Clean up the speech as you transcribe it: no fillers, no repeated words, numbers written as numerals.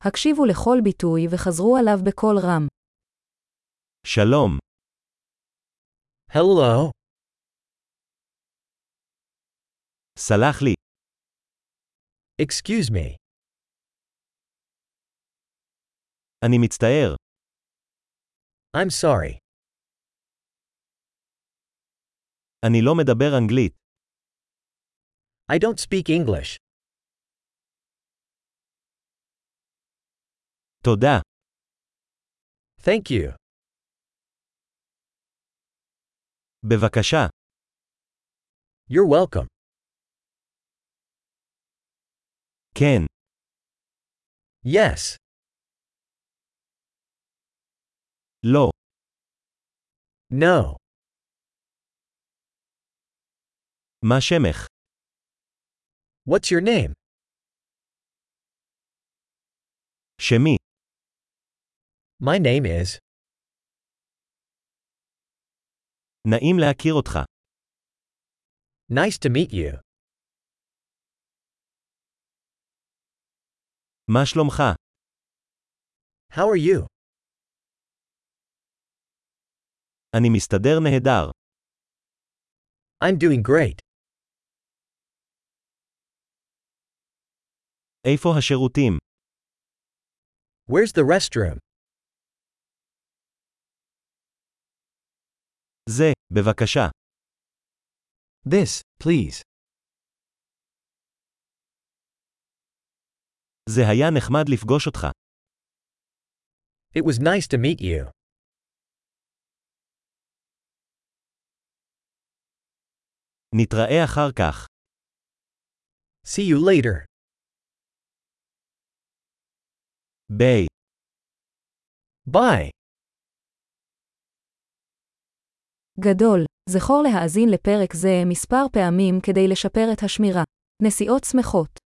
הקשיבו לכל ביטוי וחזרו עליו בקול רם. שלום. Hello. סלח לי. Excuse me. אני מצטער. I'm sorry. אני לא מדבר אנגלית. I don't speak English. תודה. Thank you. בבקשה. You're welcome. כן. Yes. לא. No. מה שמך? What's your name? שמי. My name is. נעים להכיר אותך. Nice to meet you. מה שלומך? How are you? אני מסתדר נהדר. I'm doing great. איפה השירותים? Where's the restroom? זה, בבקשה. This, please. זה היה נחמד לפגוש אותך. It was nice to meet you. נתראה אחר כך. See you later. ביי. Bye. גדול, זכור להאזין לפרק זה מספר פעמים כדי לשפר את השמירה. נסיעות שמחות.